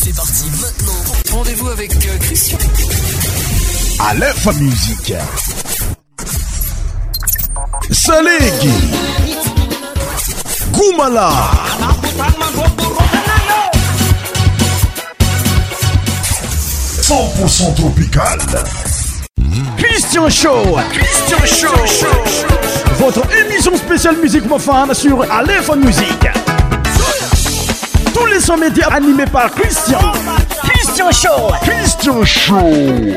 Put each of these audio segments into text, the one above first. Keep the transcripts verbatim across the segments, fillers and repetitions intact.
C'est parti maintenant. Rendez-vous avec euh, Christian. Aleph Musique. Salegi. Goumala. cent pour cent tropical. Christian Show. Christian Show. Show. Votre émission spéciale musique profane sur Aleph Musique. Tous les sons médias animés par Christian. Christian Show. Christian Show.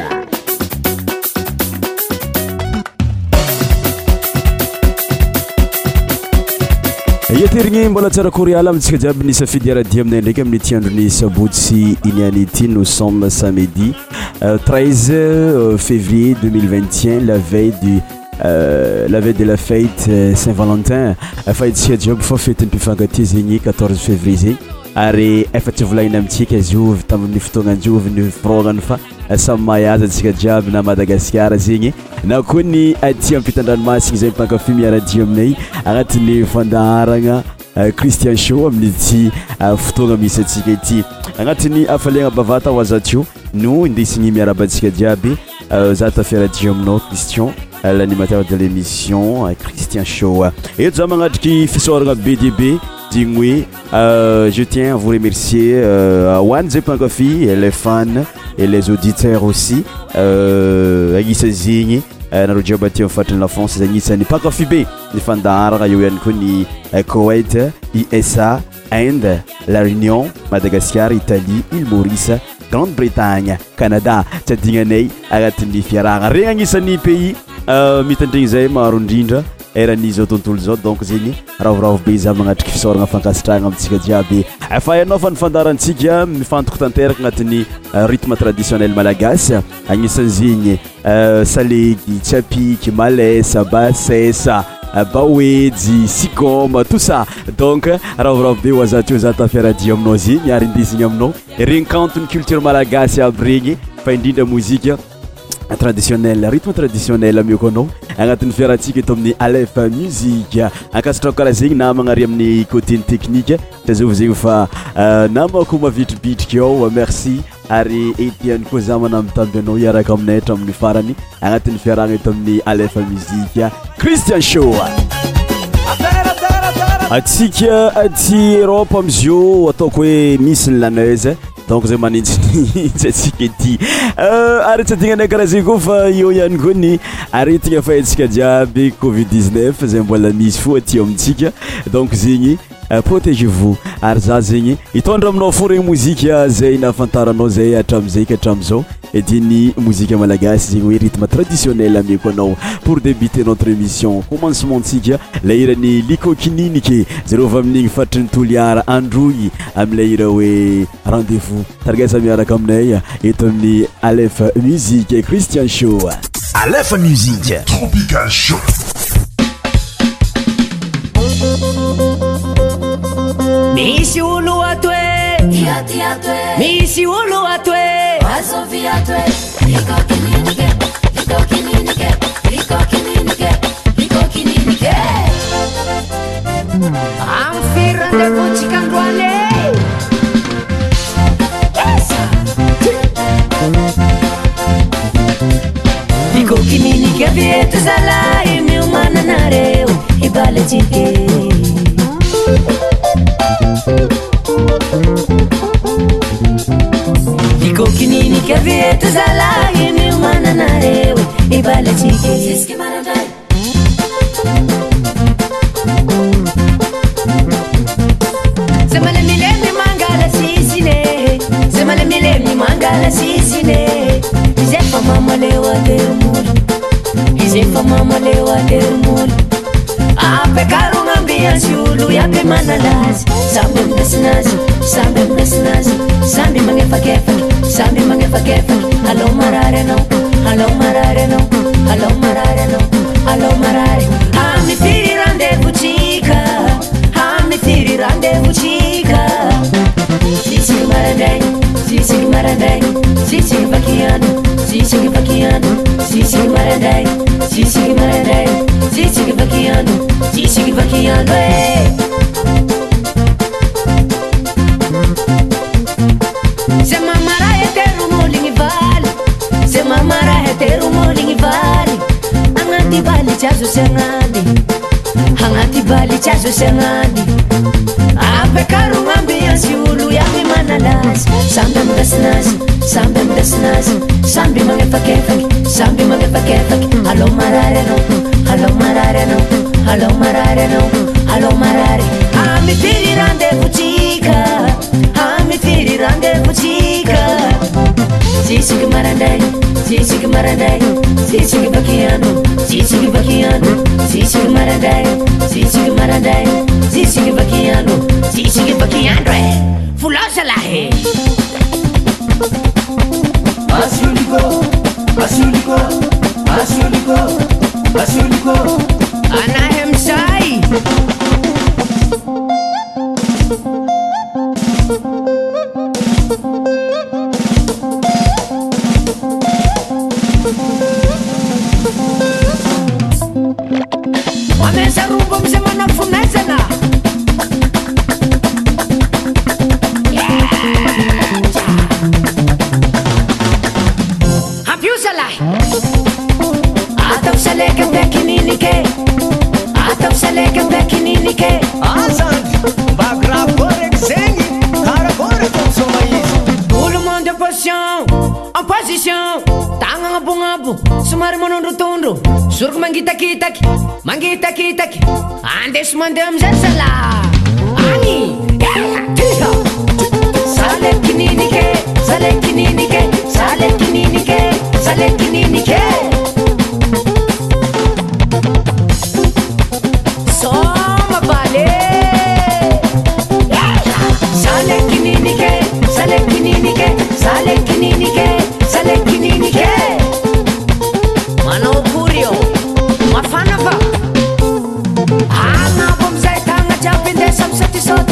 Yeterigny mbola tsara koryala amintsika jiaby ny safidy aradia aminay ndraiky amin'ny ty andro ny sabotsy iniany ity. Nous sommes samedi euh, treize février deux mille vingt et un, la veille du euh, la veille de la fête euh, Saint-Valentin. Fahatsika jiaby fa fety ny mpifankatia zegny quatorze février zegny ary efa tsy volagnina amintsika izy io tamin'ny fotoagna anjovy ny firaogany fa samy mahaza antsika jiaby na Madagasikara zegny na koa ny aty ampitan-dranomasina izay mipankafy miaradio aminay agnatin'ny fandaharagna Christian Show amin'ny ty fotoagna misy atsika ity agnatin'ny hafaliagna bavata ho azatio no indesigny miarabantsika jiaby za tafiaradio aminao Christian, l'animateur de l'émission Christian Show. Et nous avons qui fait B D B. Dingwe, euh, je tiens à vous remercier euh, à One Zepankofi et les fans et les auditeurs aussi. Euh, Aïssa Zigny, Narudio Bati en fait la France, Aïssa n'est pas Kofi B, les fans d'Ara, Yoyan Kuni, Koweït, I S A, Inde, La Réunion, Madagascar, Italie, Île Maurice, Grande-Bretagne, Canada, Tchadinganei, Agatini Fiara, Réanisani pays, Mitandrizay, Marundinda. Eran'izy tontolo zao donc zegny ravoravo be za magnatriky fisaoragna fankasitrahagna amintsika jiaby efa ianao fa ny fandarantsika mifantoko tanteraka agnatin'ny rythme traditionnel malagasy agnisan'ny zegny salegy, tsapiky, malesa, basesa, baoejy, sikoma, tout ça donc ravoravo be ho azatio za tafiaradio aminao zegny ary indesigny aminao renkanton'ny culture malagasy aby regny fa indrindra mozika traditionnel, rythme traditionnel amioko anao agnatin'ny fiarahantsika eto amin'ny Aleph Musique ankasitrako karaha zegny namagna ary amin'ny côté technique tazova zegny fa namako mavitribitriky ao merci ary etiany koa za manambitamby anao iaraka aminay hatramin'ny farany agnatin'ny fiarahagna eto amin'ny Aleph Musique Christian Show. Atsika aty Europe amizio ataoko hoe misy ny laneuse donc zay manintsy atsika ety ary tsy adignanay karaha zegny koa fa io ihany koa ny aretigna fahatsika jiaby covid dix-neuf zay mbola misy fo aty amintsika donc zegny protégez-vous ary za zegny hitondra aminao fo regny mozika zay nahafantaranao zay hatramizay ka hatramizao ediny mozika malagasy zegny hoe rythme traditionnel amiako anao pour débuter notre émission commencementsika la irany likokininike zero va amin'igny fatry ny toliara androy am'la ira hoe rendez-vous targasa miaraka aminay eto amin'ny Aleph Musique Christian Show. Aleph Musique Tropical Show. Misy olo atoe Misy olo atoe Azovia atoe Liko kininike Liko kininike Liko kininike Liko kininike Amfirande kuchikandwane Liko kininike vietu zala Imi umana nareu Ibale chike Iko kinini ke vietu zala Imi umana narewe Ibale chike Siski maradai Semale milemi mangala sisine Semale milemi mangala sisine Izefa mama lewa dermul Izefa mama lewa dermul Ape karunga mbia shulu Yape manalazi Sambi mnasinazi Sambi mnasinazi Sambi mangefa kefa Sambi mangefa kefa Hello marare no Hello marare no Hello marare no Hello marare Hami firi rendezvous chica Hami firi rendezvous chica Sisi maradei Sisi maradei Sisi vakiano Sisi vakiano Sisi maradei Sisi maradei Sisi vakiano Sisi vakiano Hangati bali chazo sengani, hangati bali chazo sengani. Ape karu ambiance ulu ya manalas. Sambe mdasnas, sambe mdasnas, sambe mangefakefak, sambe mangefakefak. Hello marare no, hello marare no, hello marare no, hello marare. Ami firi rendezvous chica, ami firi rendezvous chica. Sisi que marandai, sisi que marandai, sisi que vaquiano, sisi que vaquiano, sisi que marandai, sisi que marandai, sisi que vaquiano, sisi que vaquiano. Fulosa la he. Asiuliko, asiuliko, asiuliko, asiuliko. Anahem sai. Wameza rumbo msema na funeza na Hampiusa lai Atav saleka bekinini ke Atav saleka bekinini ke Azandi, bagra korek zengi, kara korek soma izi. Tout le monde en position, en position. Tanga ngabungabu, sumari monondro tondro. Suruk mangita kitaki, mangita kitaki. Ande sumande amzesala. Ani, tiha. Sale kinini ke, sale kinini ke, sale kinini ke, sale kinini ke. Soma vale. Sale kinini ke, sale kinini ke, sale kinini ke, sale kinini ke. Mano curio, mafana va. Ana bom zai tanga japin de sam sati sot.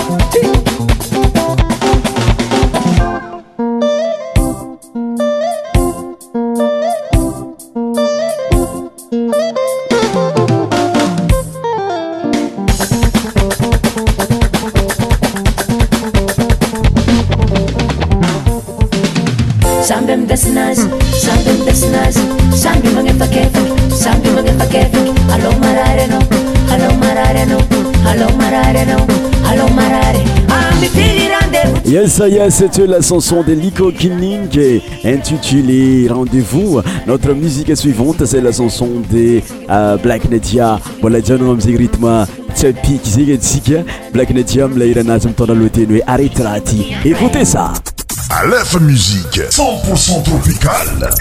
Sambem desnas, sambem desnas, sambi mangefakefak, sambi mangefakefak. Allo marare no, allo marare no, allo marare no, allo marare. Ami firi rendezvous. Yes, yes, c'était la chanson de Liko Kinning intitulée Rendez-vous. Notre musique suivante, c'est la chanson de euh, Black Nadia. Voilà, déjà nous avons rythme tchapi qui c'est Black Nadia, mlaïrana, m'tona l'outé, arrêtera-t-il. Écoutez ça. Aleph Musique, cent pour cent tropical.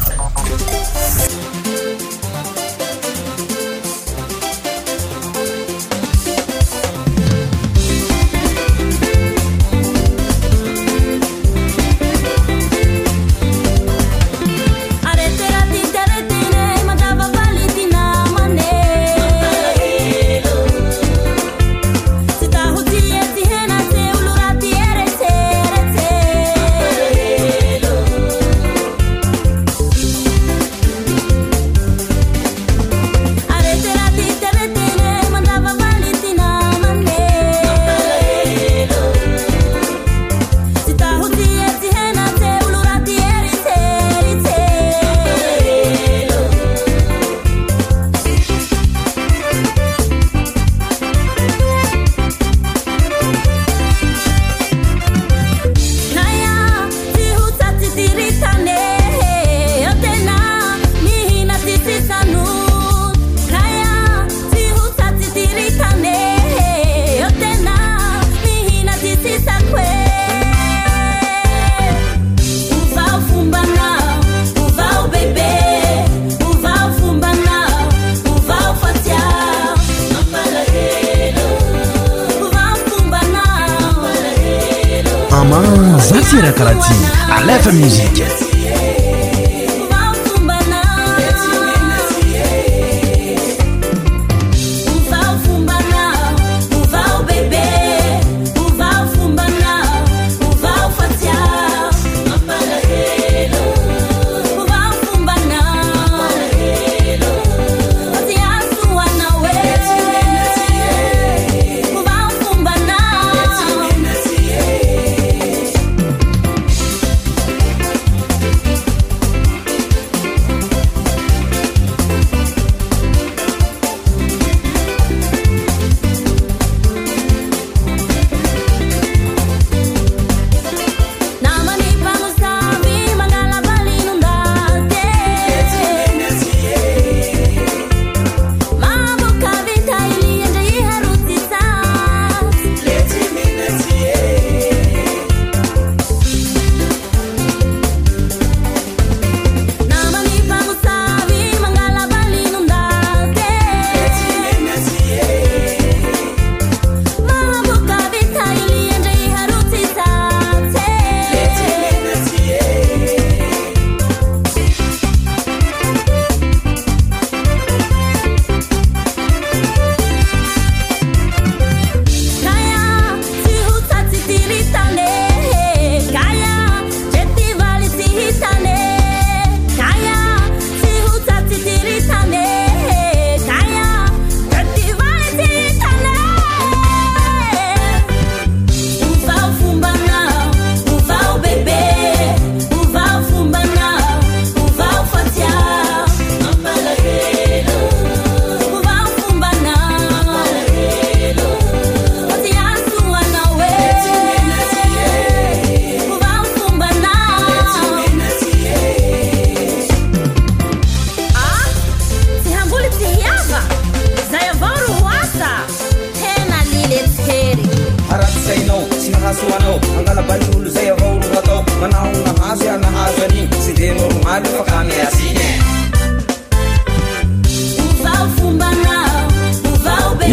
Zatira Karati, Aleph Musique.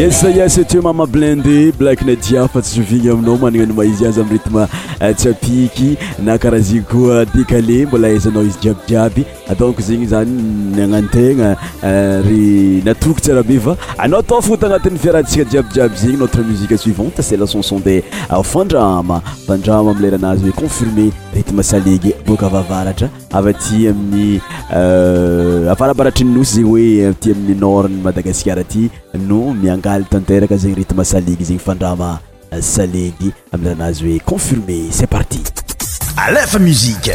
Yes, yes, c'était Mama Blindé, Black Nadia, fa tsy zovigny aminao managna ny maizy azy amin'ny rythme tsapiky na karaha zay koa décalé mbola aizanao izy jiabijiaby donc zegny zany nagnantegna ry natoky tsara be va anao atao foto agnatin'ny fiarahantsika jiabijiaby zegny notre musique suivante c'est la chanson de Fandrama Fandrama amin'ny leranazy hoe confirmé rythme salegy boka avavaratra avy aty amin'ny avarabaratry ny nosy zegny hoe aty amin'ny nord ny Madagasikara aty no miangaly tanteraka zegny rythme salegy zegny Fandrama salegy amin'ny leranazy hoe confirmé c'est parti Aleph Musique.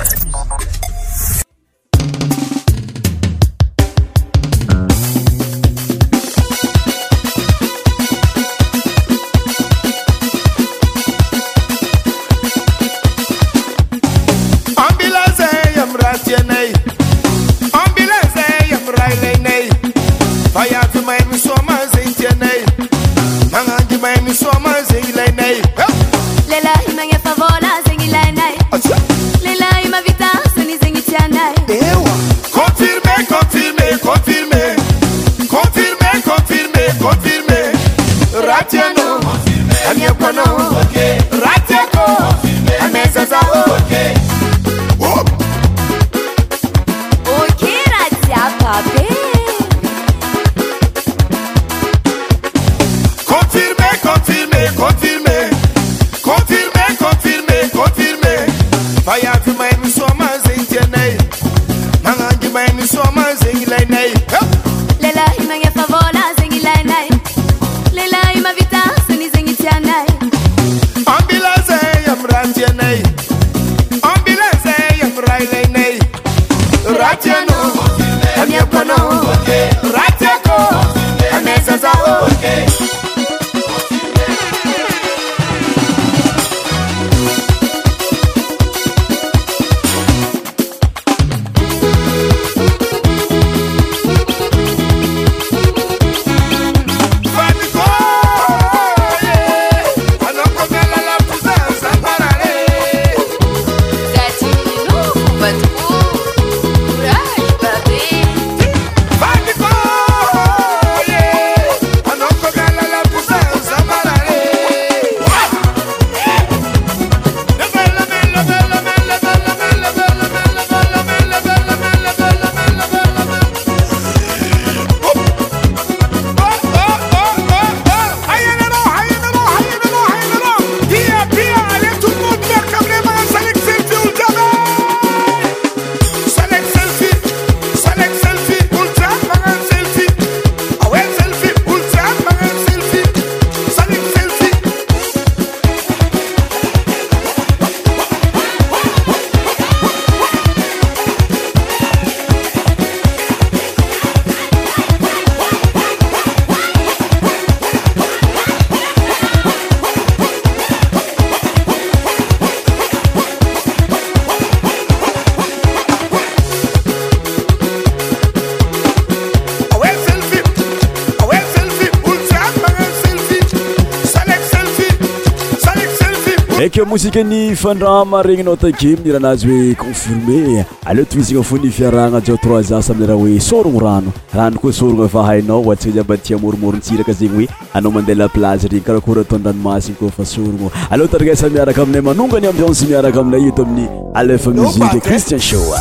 Eke musique ni Fandrama regninao take miranazy hoe confirmé aleo toizigna fo ny fiaragna jao trois ans saminy raha hoe sorogno rano rano koa sorogno efa hainao oatsika jiaby aty amoromorotsiraka zegny hoe anao mandeha la plage regny karakory ataon-dranomasiny koa fa sorogno aleo tarigasa miaraka aminay manongany ambiance miaraka aminay eto amin'ny Aleph Musique Christian Show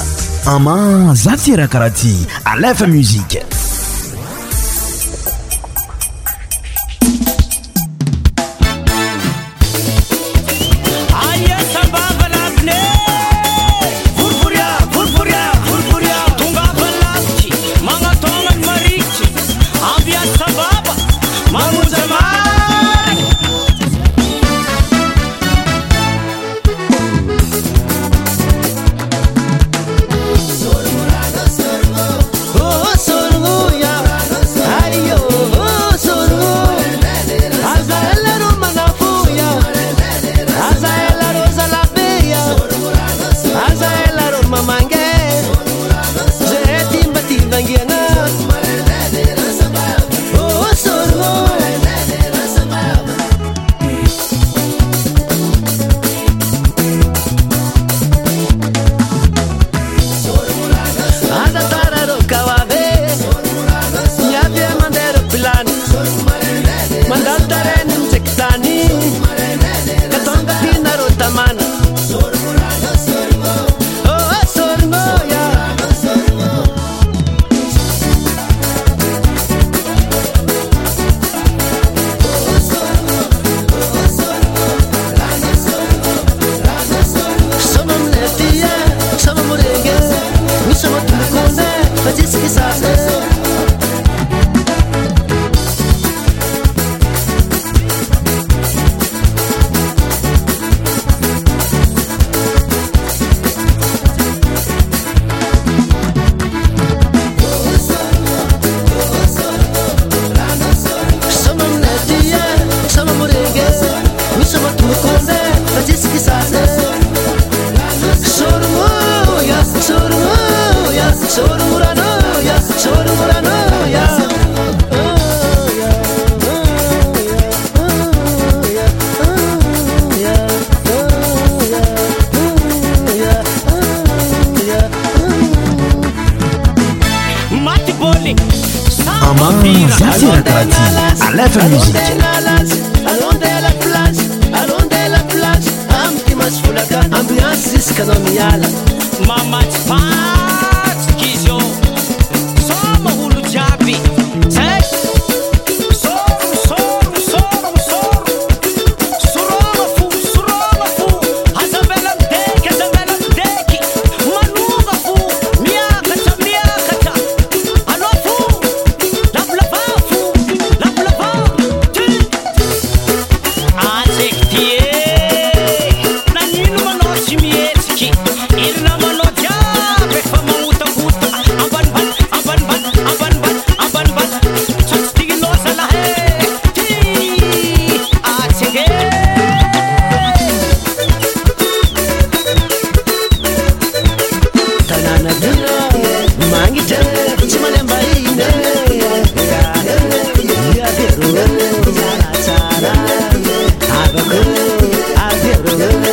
ama za ty raha karaha ty Aleph Musique. Sorgo, Zatira Karati à l'F M Musique. Allons de la plage, allons de la plage. Amki masfulaka, ambiance iskanomiala. Mama Pat, Kizo, Soma Hulu Jabi. Say, Soro, Soro, Soro, Soro. Suroma fu, Suroma fu. Hazabela deki, Hazabela deki. Manuga fu, Miakacha, Miakacha. Ano fu, Lablava fu, Lablava. Azektie, Nanino Manochi Mietski. Irna Manoja, Befama Uta Uta. Aban Ban, Aban Ban, Aban Ban, Aban Ban. Chastino Salahe. Azeke. Tanana Dana, Mangi Jana, Chimalemba Ine. Yabiru, Zara Zara. Abaku, Abiru,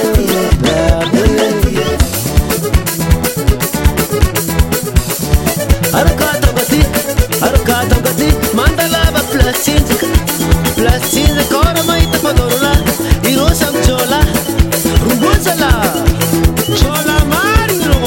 Arukata Gati, Arukata Gati, Mandalava Plastic, Plastic, Koramaita Padorula, Irosam Chola, Rubuzala, Chola Mario.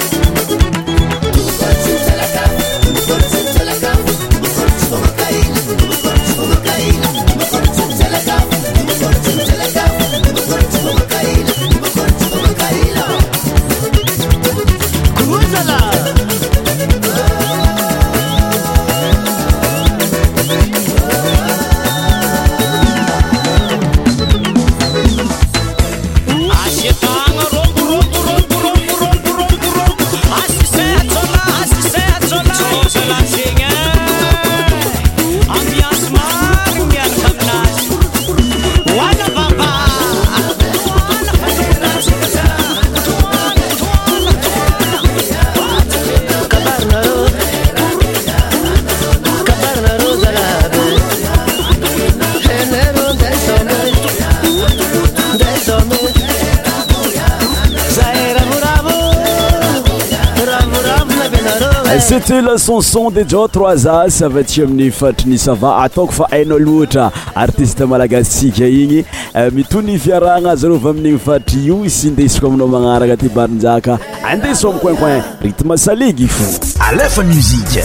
C'était la chanson de Joe trois As avy amin'ny fatriny sava ataoko fa hainao loatra artiste malagasitsika igny mitony fiaragna zareo avy amin'igny fatry io sy indesiko aminao magnaraka ty barinjaka andeso amin'ny coin-coin rythme saligy fo Aleph Musique.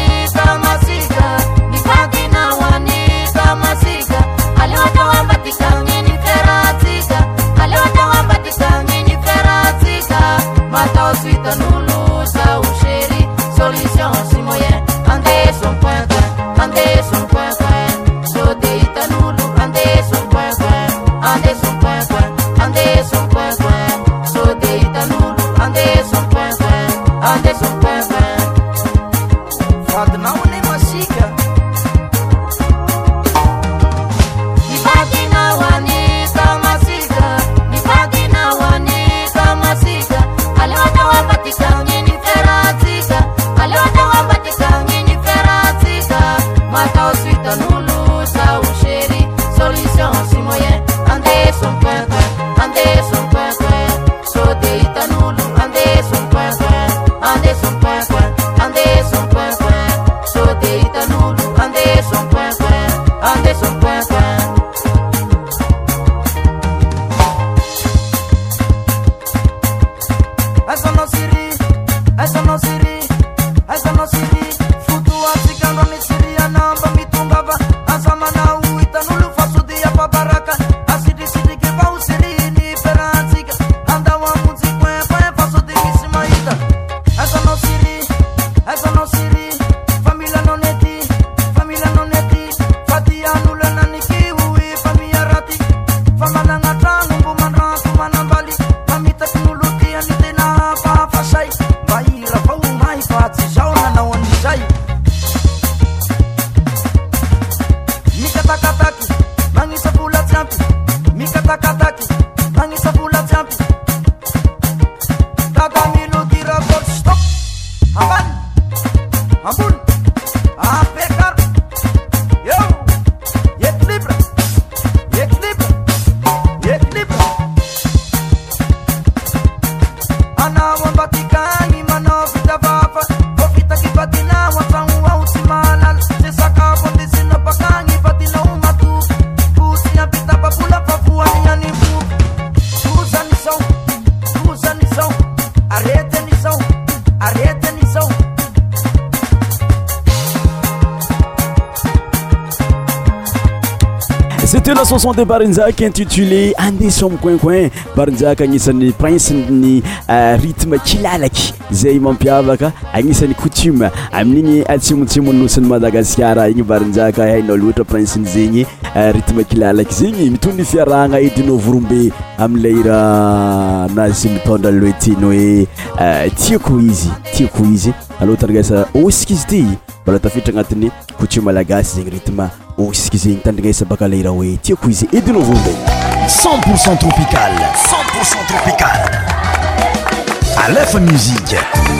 Masika, aliwata wambatika C'était la chanson de Barinzak intitulée Andesom Coin Coin. Barinzak agnisan'ny prince ny rythme kilalaky zay mampiavaka, agnisan'ny coutume amin'igny atsimotsimo nosiny Madagasikara igny Barinzak hainao loatra prince zegny rythme kilalaky zegny mitondra fiarahagna edinao vorombe am'ilay raha nazy mitondra loe tiany hoe tiako izy tiako izy allo tandrigasa osika izy ty mbola tafiditra agnatin'ny coutume malagasy zegny rythme osika zegny tandrigasa baka lay raha hoe tiako izy edinao vorombe. cent pour cent tropical, cent pour cent tropical. Aleph Musique.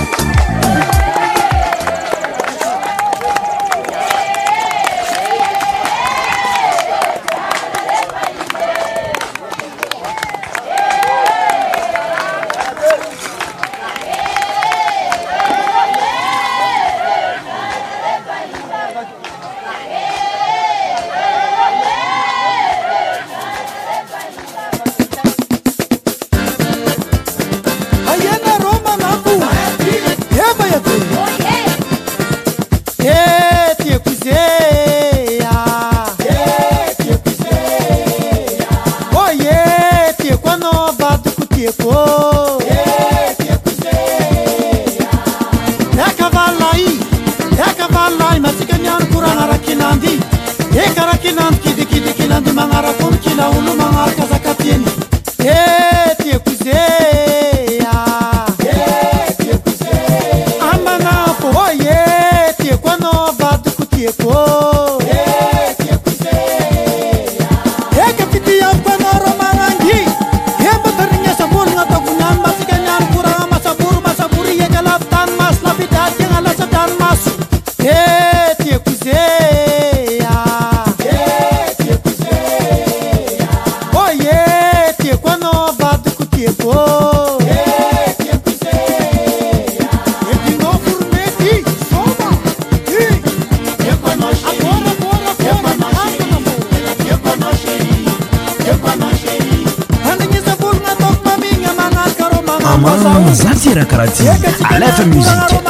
Zatira Karati, Aleph Musique.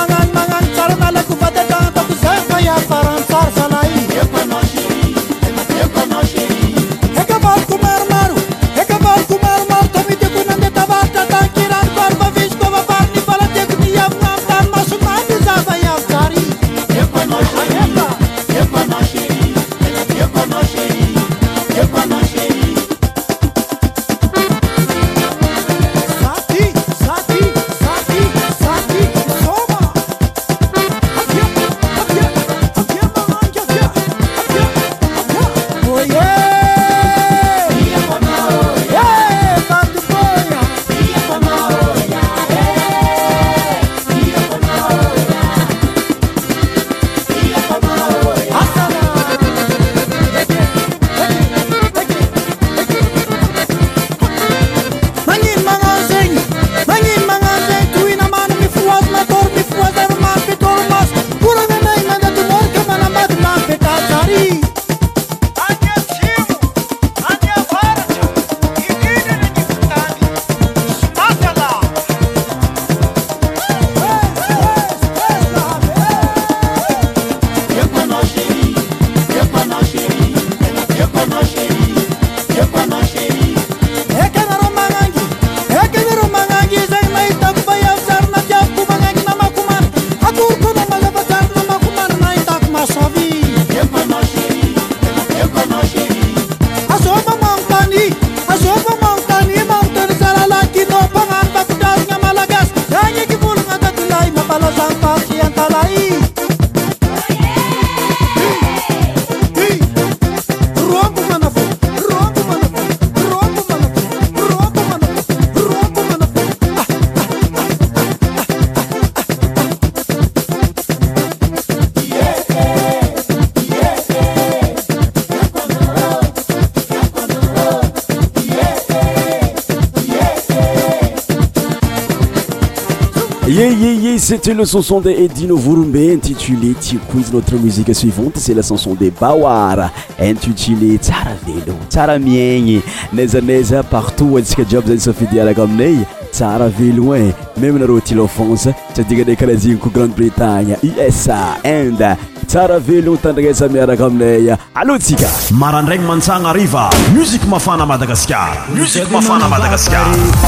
Yeah, yeah, yeah, c'était le chanson de Edino Vurumbe intitulé Quiz. Notre musique suivante, c'est la chanson de Bawara intitulée Tsara Velo, Tsara Miegny. Neza neza partout, antsika jiaby zany safidiaraka aminay Tsara Velo e, même nareo ty l'offense, sadika de karazigny ko Grande-Bretagne, U S A, Inde. Tsara Velo tandragnesa miaraka aminay. Allô tsika. Marandraigny mantsagna riva, musique mafana Madagascar. Musique mafana Madagascar.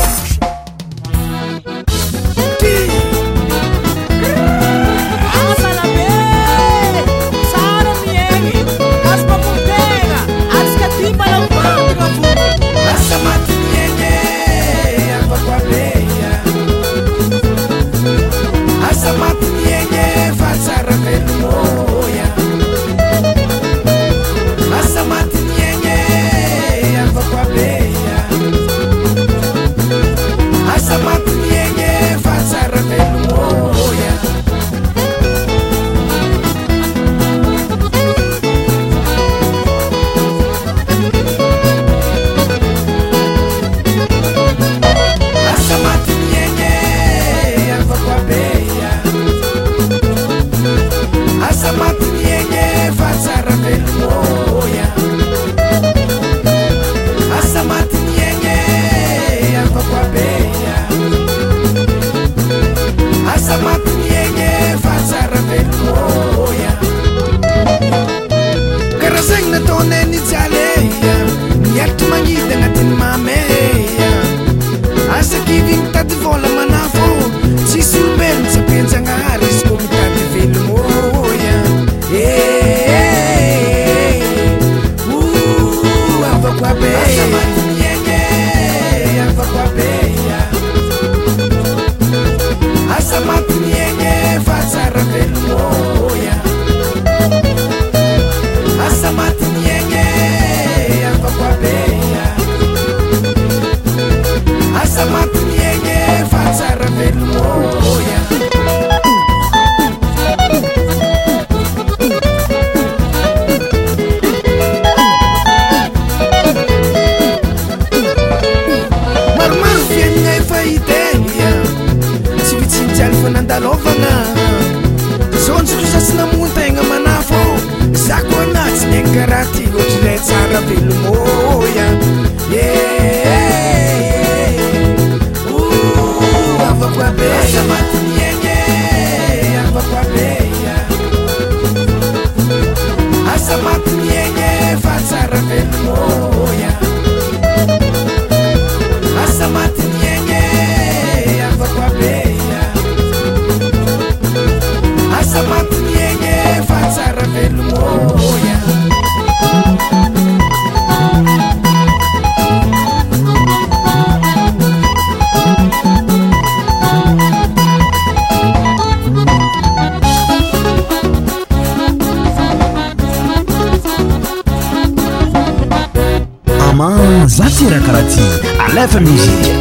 Alefa musique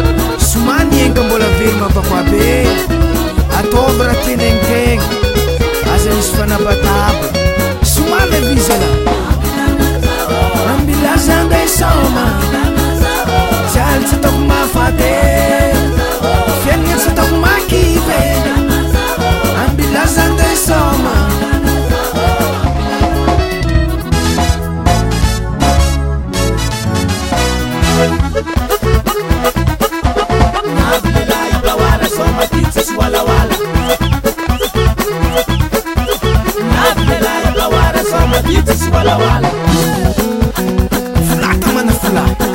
Sumani enga mbola velma papabe Atova raha tenentegna Aza misy fanabataba Somale vizala Ambilazanga isoma Jaly tsy ataoko mafate Fiainagna tsy ataoko makive Ambilazanga isoma Wala wala Fulata mana fulata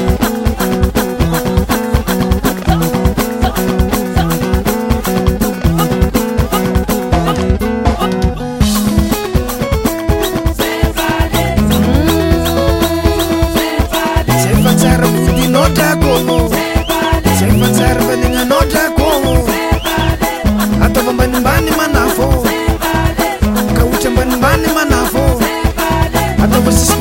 Sefa tsara budi nota komo Sefa tsara baninga nota komo Atau mbani manafo Kaucha mbani manafo Atau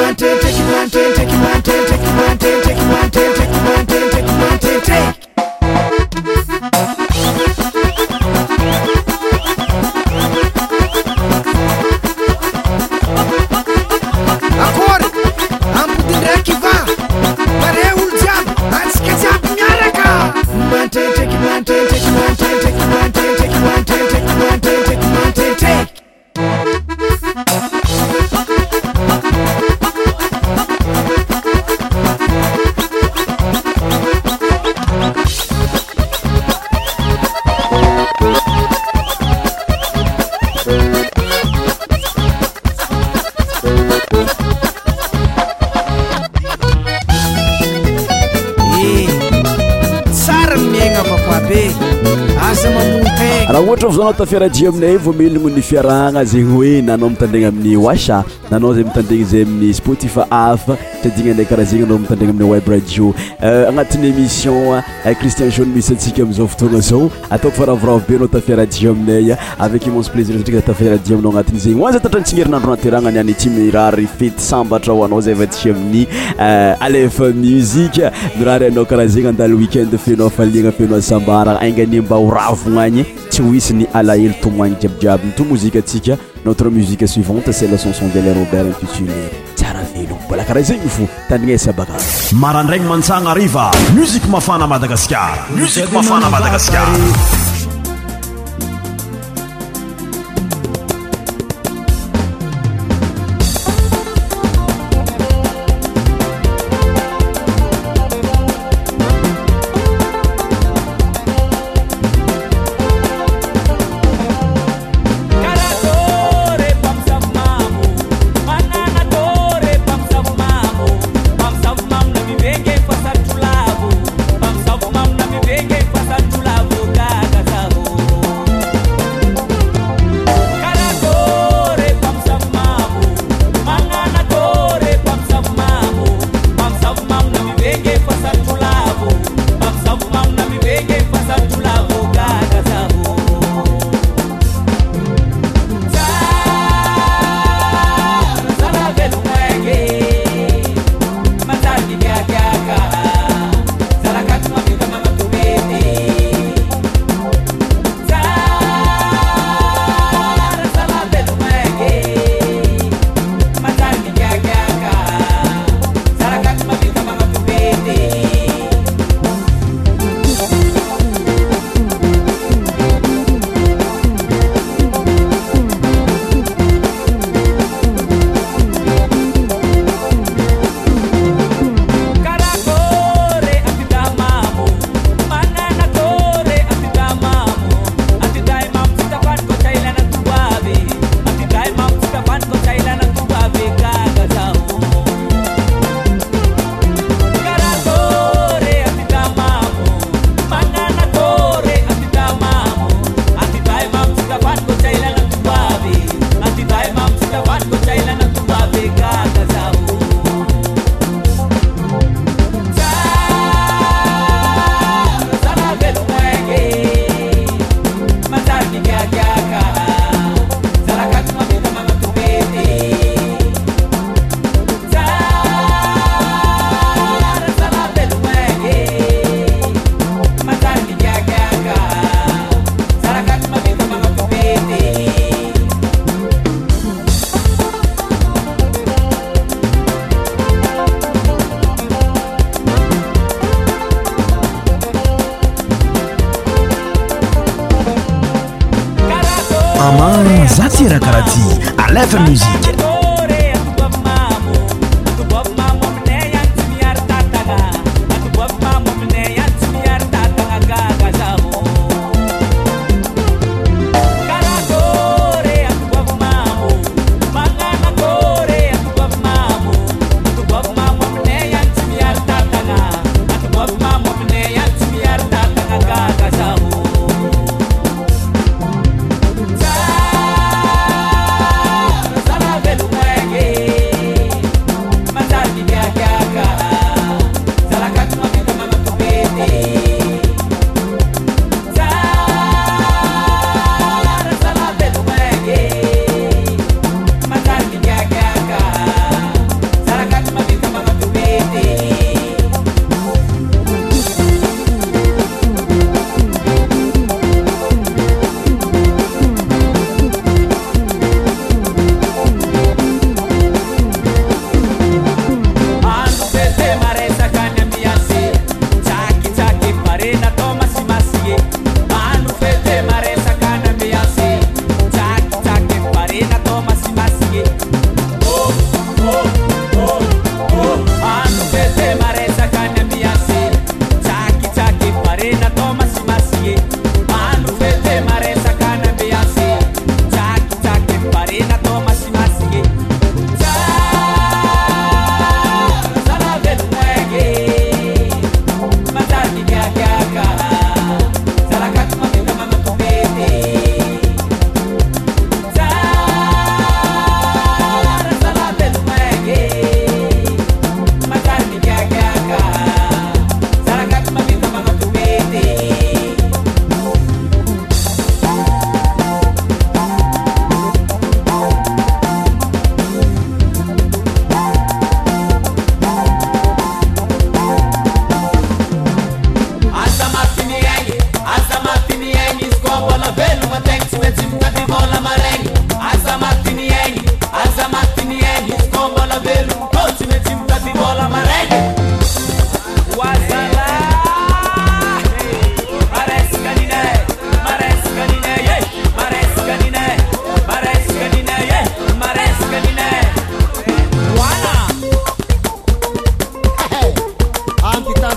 Zanao tafiaradia aminay voamelogno ny fiarahagna zegny hoe nanao mitandregna amin'ny Washa, nanao zay mitandregny zay amin'ny Spotify hafa, tadina ndraiky karaha zegny anao mitandregna amin'ny web radio. Agnatin'ny émission Christian Jaune misy antsika amin'izao fotoagna zao, ataoko faravoravo be anao tafiaradia aminay avec immense plaisir satria tafiaradia aminao agnatin'ny zegny. Hoaza tatrantsingerinandro nateragna niany ity mirary fety sambatra ho anao zay vatsy amin'ny Aleph Music. Mirary anao karaha zegny andalo week-end fenao faliagna fenao sambara aingany mba ho ravogna agny tsy ho hisy ny alahelo tomoagny jiabijiaby to muzika atsika. Notre musique suivante c'est la chanson de Robert intitulée Tsara Velo. Mbola karaha zegny fo tandrignesa baka marandraigny mantsagna ariva musique mafana Madagascar, musique mafana Madagascar. Zatira Karati, Aleph Musique. Velo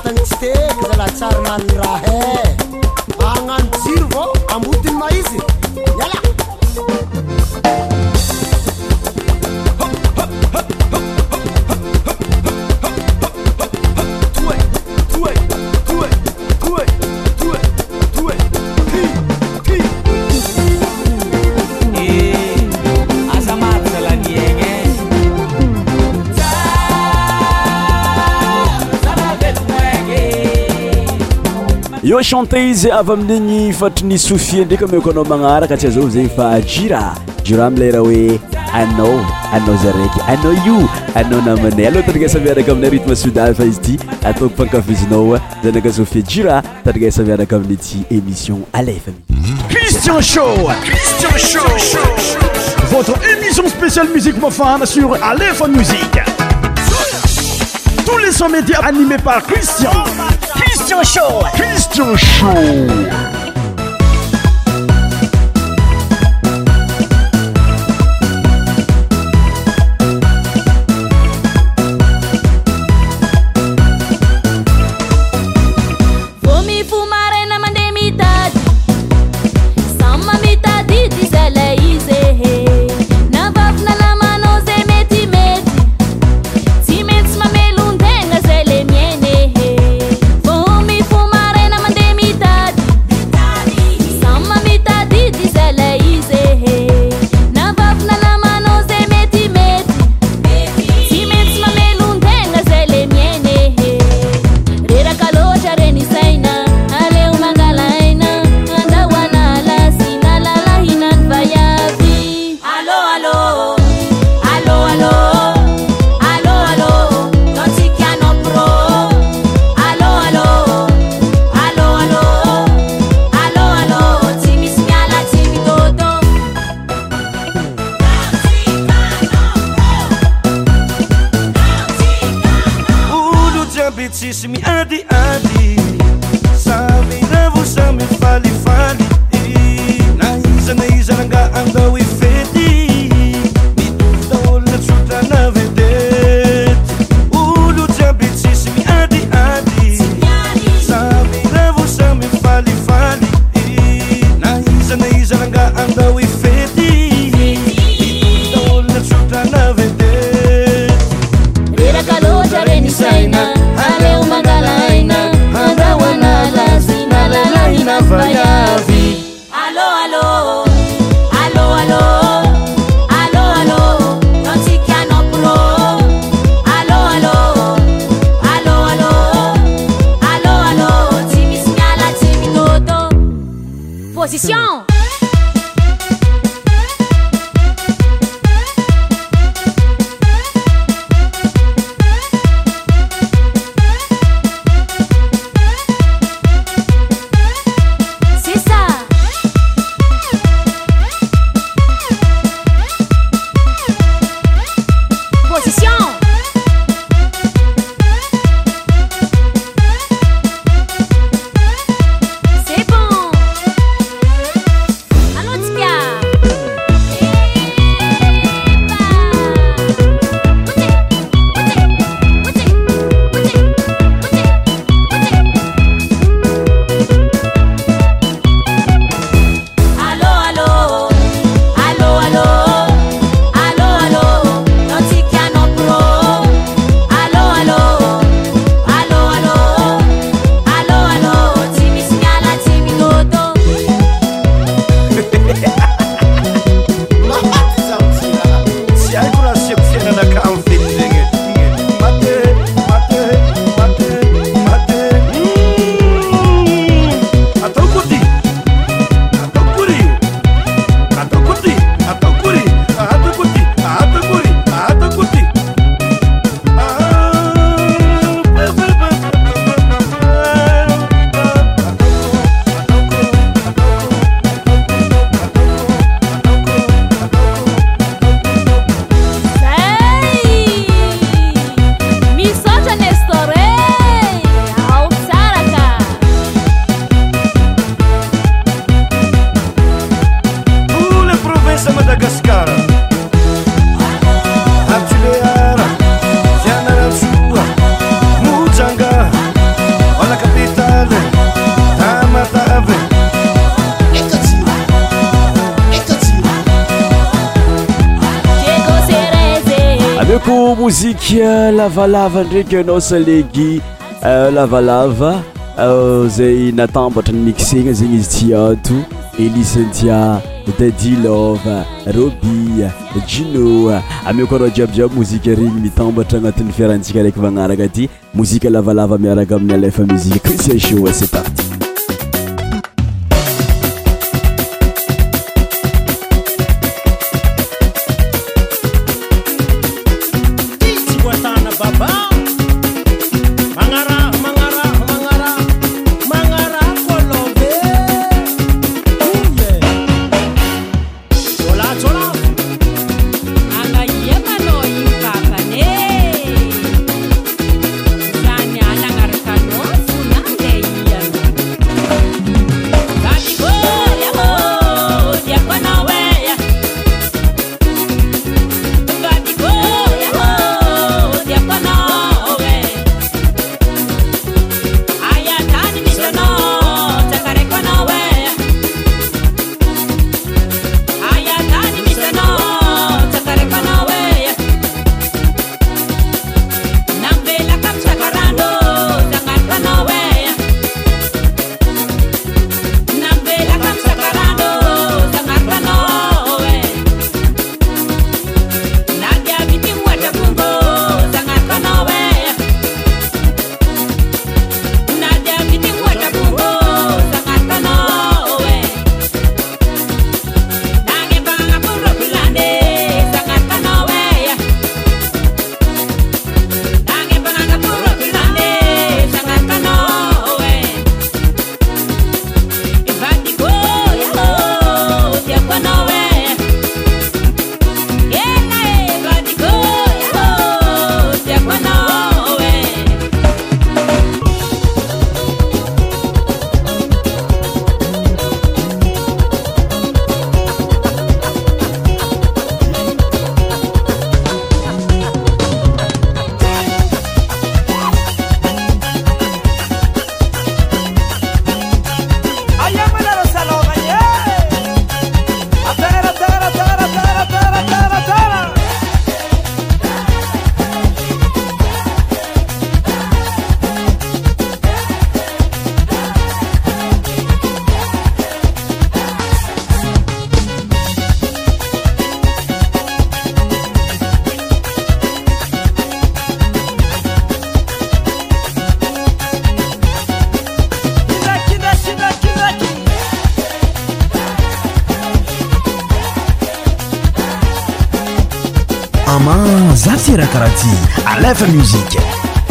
vatany tsy teky zala tsara maniny raha e agnano jiro vao ambotiny maizy yala Yo chanteuse avy amin'igny fatry ny Sofia ndraiky ameko anao magnaraka tsy azao zegny fa Jira Jira amilera hoe anao anao zaraiky anao io anao namanay aloha tandrigasa miaraka amin'ny rythme sodal fa izy ty ataoko fankafizinao zanaka Sofia Jira tandrigasa miaraka amin'ny ty émission Alefa Christian Show Christian Show votre émission spéciale musique mofane sur Alephone Musique. Tous les sons médias animés par Christian. Christian Show. Christian Show. mozika lavalava ndraiky anao salegy lavalava zay natambatra ny mixena zegny izy tiato Elisentia Dadilova Roby Gino ame koa jiabijiaby mozika regny mitambatra agnatin'ny fiarantsika raiky magnaraka ty mozika lavalava miaraka amin'ny Alefa Musique Christian Show c'est parti. Zafira Karati, Alefa Musique.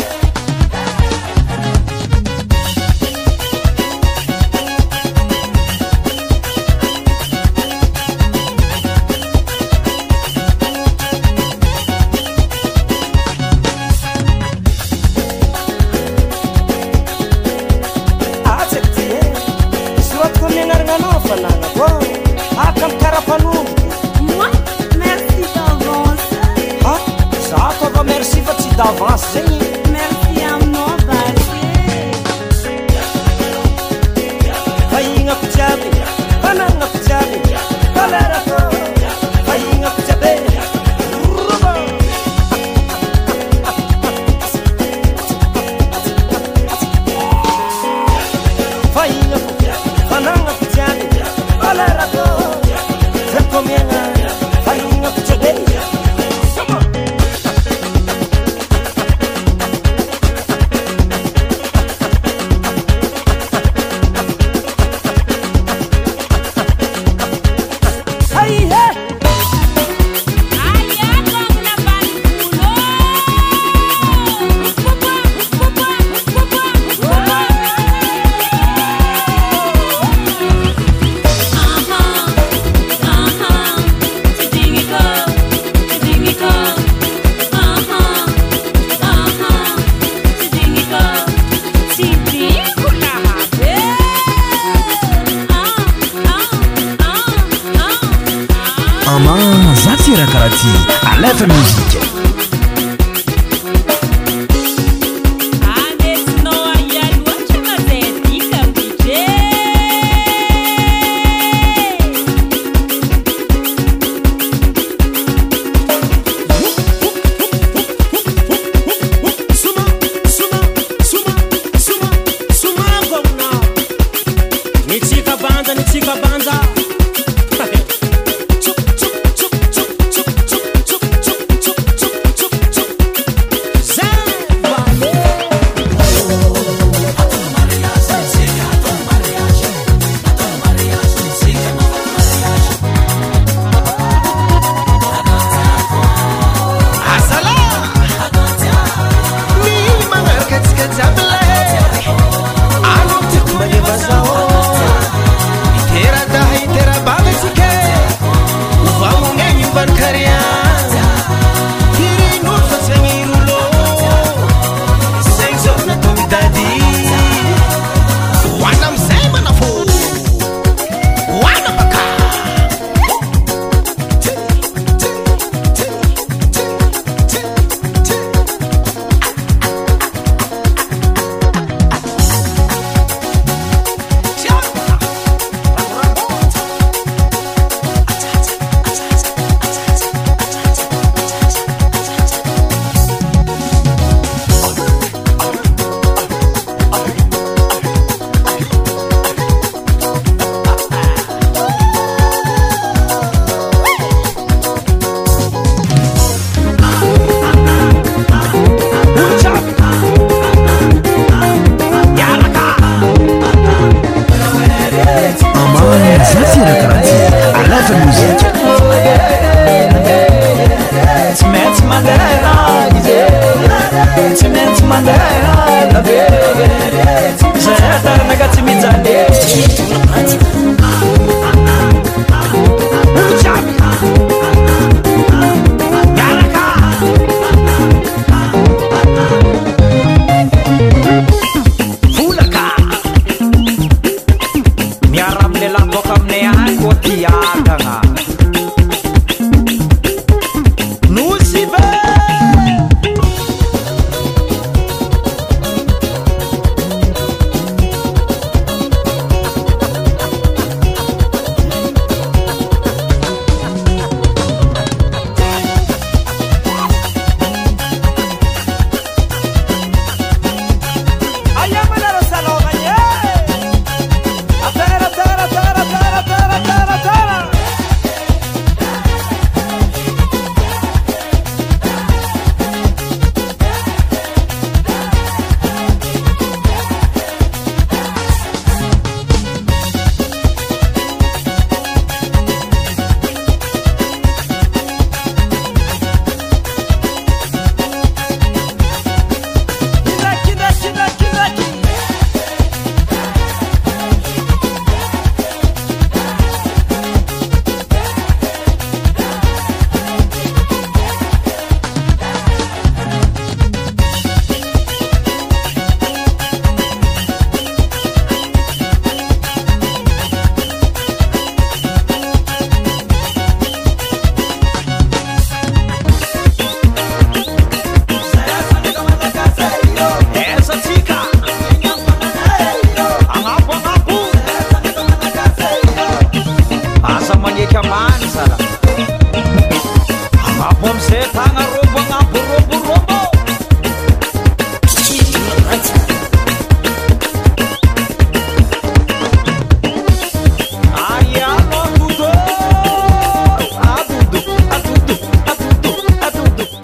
Zafira Karati, Alefa Musique.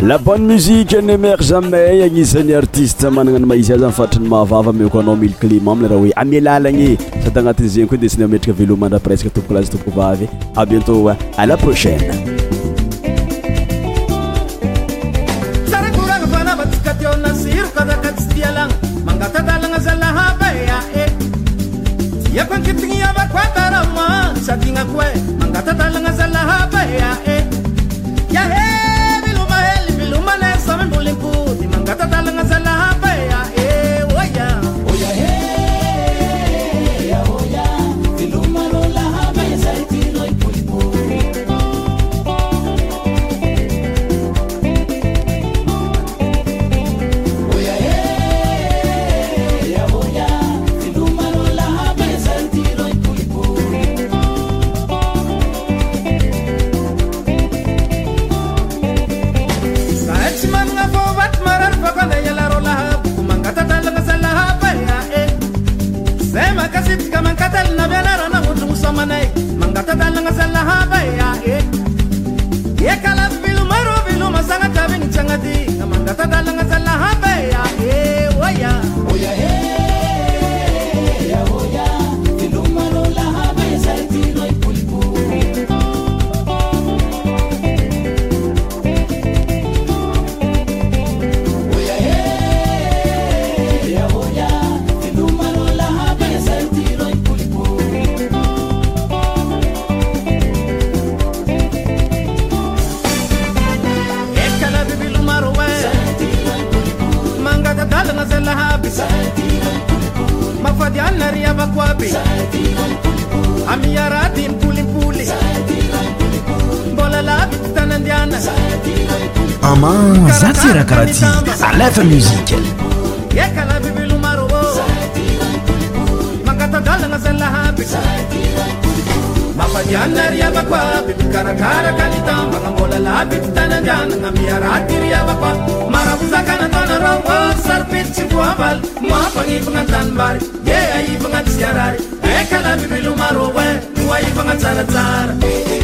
La bonne musique ne meurt jamais agnisan'ny artiste managna ny maizy azy mifatrany mahavava meko anao mily climat aminy raha hoe amelalagny sady agnatin'ny zegny koa desiny ametraka velomandra presque tompoko lazy tompoko vavy. À bientôt, à la prochaine. Ama Zatira Karati à l'F M Musique. Mafadiana riaba kwa bikarakara kanitamba ngamola la bitana jana ngamira riaba kwa marabuza kana tona rawa sarpit chikuabal mapangi pangatan bar ye ai pangat siarari ekala bibilu marowe nuai pangat sara sara.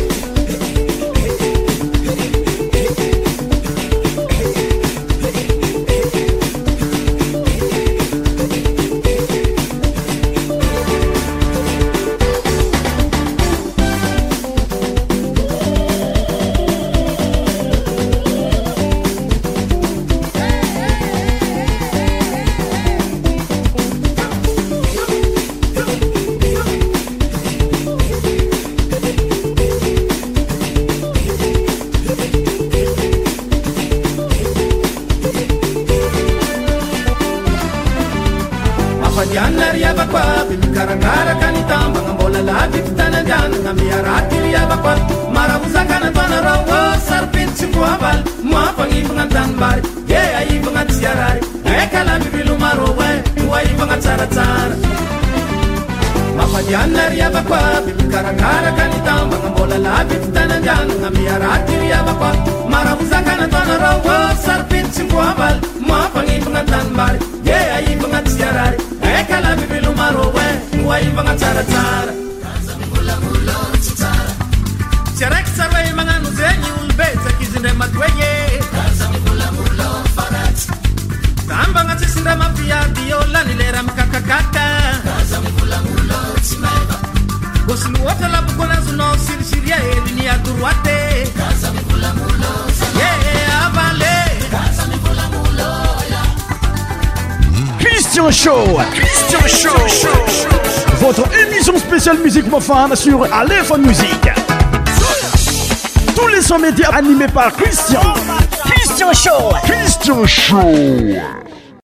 Christian Show, Christian Show, votre émission spéciale musique mofane sur Aléphone Musique. Tous les sons médias animés par Christian. Christian Show, Christian Show.